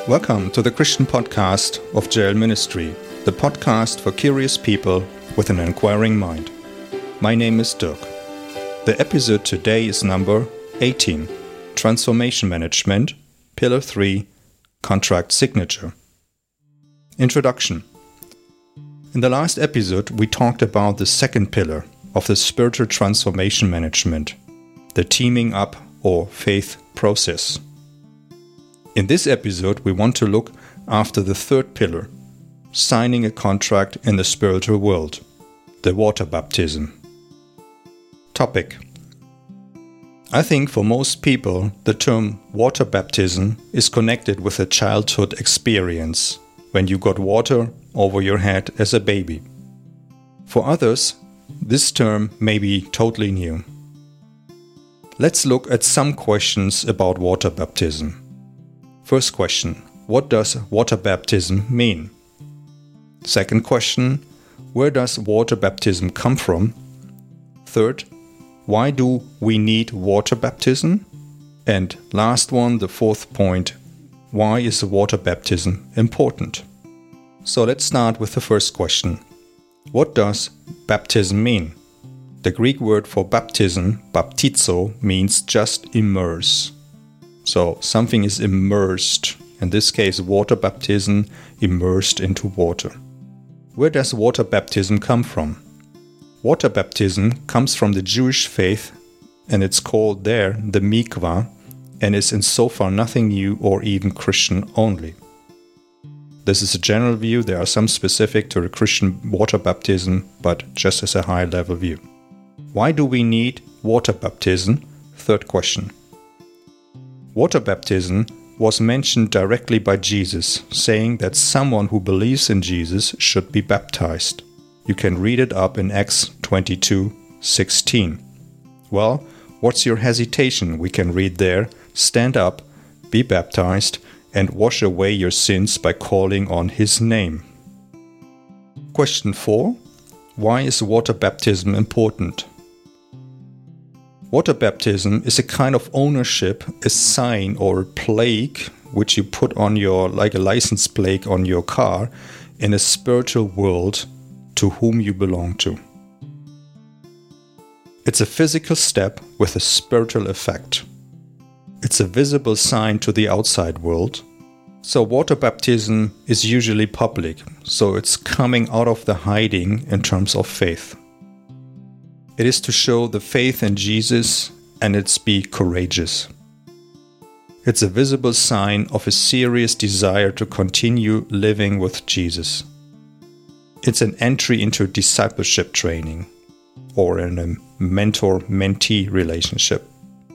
Welcome to the Christian podcast of JL Ministry, the podcast for curious people with an inquiring mind. My name is Dirk. The episode today is number 18, Transformation Management, Pillar 3, Contract Signature. Introduction. In the last episode, we talked about the second pillar of the spiritual transformation management, the teaming up or faith process. In this episode, we want to look after the third pillar, signing a contract in the spiritual world, the water baptism. Topic. I think for most people, the term water baptism is connected with a childhood experience, when you got water over your head as a baby. For others, this term may be totally new. Let's look at some questions about water baptism. First question, what does water baptism mean? Second question, where does water baptism come from? Third, why do we need water baptism? And last one, the fourth point, why is water baptism important? So let's start with the first question. What does baptism mean? The Greek word for baptism, baptizo, means just immerse. So something is immersed, in this case water baptism, immersed into water. Where does water baptism come from? Water baptism comes from the Jewish faith, and it's called there the mikvah, and is in so far nothing new or even Christian only. This is a general view, there are some specific to the Christian water baptism, but just as a high-level view. Why do we need water baptism? Third question. Water baptism was mentioned directly by Jesus, saying that someone who believes in Jesus should be baptized. You can read it up in Acts 22:16. Well, what's your hesitation? We can read there, stand up, be baptized, and wash away your sins by calling on His name. Question 4. Why is water baptism important? Water baptism is a kind of ownership, a sign or a plaque which you put on your, like a license plate on your car, in a spiritual world to whom you belong to. It's a physical step with a spiritual effect. It's a visible sign to the outside world. So water baptism is usually public, so it's coming out of the hiding in terms of faith. It is to show the faith in Jesus, and it's be courageous. It's a visible sign of a serious desire to continue living with Jesus. It's an entry into discipleship training, or in a mentor-mentee relationship.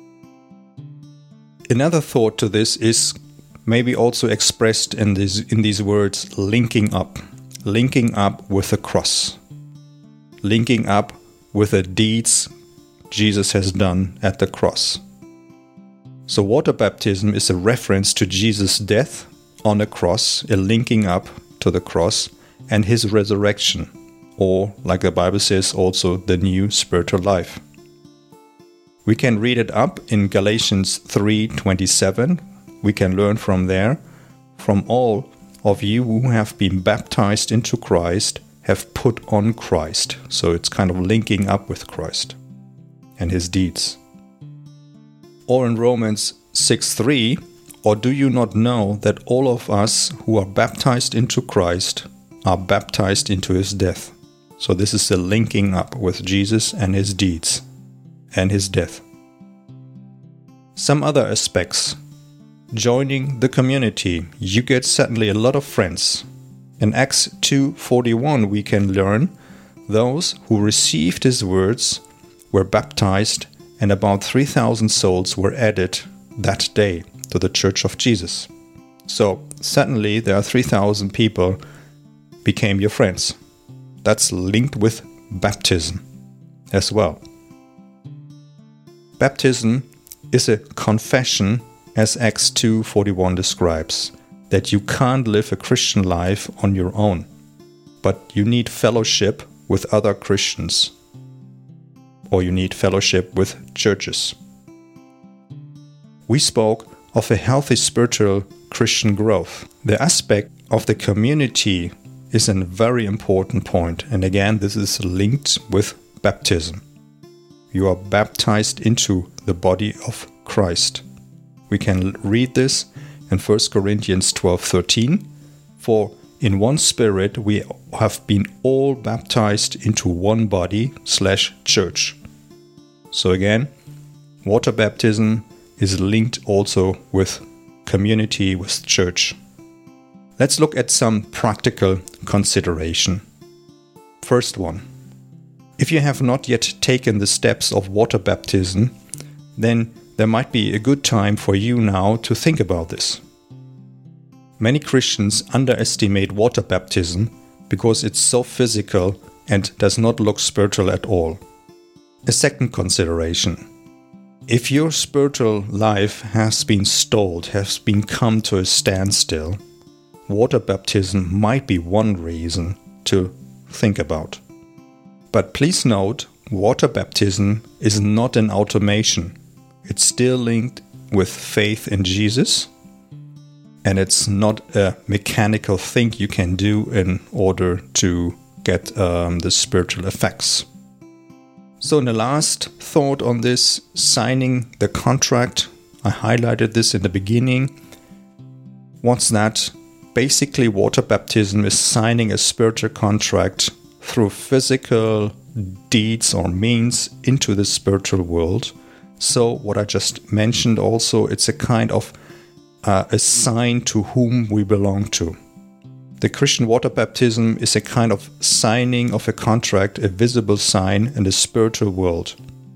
Another thought to this is maybe also expressed in these words, linking up with the cross, linking up with the deeds Jesus has done at the cross. So water baptism is a reference to Jesus' death on the cross, a linking up to the cross, and His resurrection, or, like the Bible says, also the new spiritual life. We can read it up in Galatians 3:27. We can learn from there, from all of you who have been baptized into Christ, have put on Christ. So it's kind of linking up with Christ and His deeds. Or in Romans 6:3, or do you not know that all of us who are baptized into Christ are baptized into His death? So this is the linking up with Jesus and His deeds and His death. Some other aspects. Joining the community. You get certainly a lot of friends. In Acts 2:41 we can learn those who received His words were baptized, and about 3,000 souls were added that day to the Church of Jesus. So certainly there are 3,000 people became your friends. That's linked with baptism as well. Baptism is a confession, as Acts 2:41 describes, that you can't live a Christian life on your own, but you need fellowship with other Christians, or you need fellowship with churches. We spoke of a healthy spiritual Christian growth. The aspect of the community is a very important point, and again, this is linked with baptism. You are baptized into the body of Christ. We can read this in 1 Corinthians 12:13. For in one Spirit we have been all baptized into one body/church. So again, water baptism is linked also with community, with church. Let's look at some practical consideration. First one. If you have not yet taken the steps of water baptism, then there might be a good time for you now to think about this. Many Christians underestimate water baptism because it's so physical and does not look spiritual at all. A second consideration. If your spiritual life has been stalled, has been come to a standstill, water baptism might be one reason to think about. But please note, water baptism is not an automation. It's still linked with faith in Jesus, and it's not a mechanical thing you can do in order to get the spiritual effects. So in the last thought on this, signing the contract, I highlighted this in the beginning. What's that? Basically, water baptism is signing a spiritual contract through physical deeds or means into the spiritual world. So what I just mentioned also, it's a kind of a sign to whom we belong to. The Christian water baptism is a kind of signing of a contract, a visible sign in the spiritual world.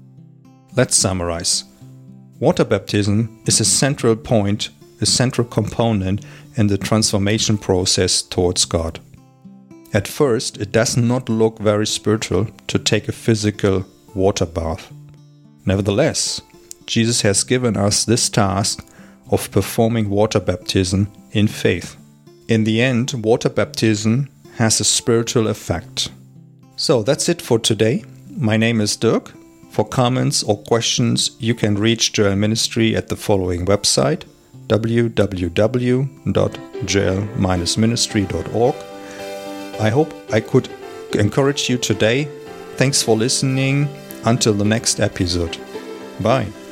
Let's summarize. Water baptism is a central point, a central component in the transformation process towards God. At first, it does not look very spiritual to take a physical water bath. Nevertheless, Jesus has given us this task of performing water baptism in faith. In the end, water baptism has a spiritual effect. So that's it for today. My name is Dirk. For comments or questions, you can reach Joel Ministry at the following website, www.joel-ministry.org. I hope I could encourage you today. Thanks for listening. Until the next episode. Bye.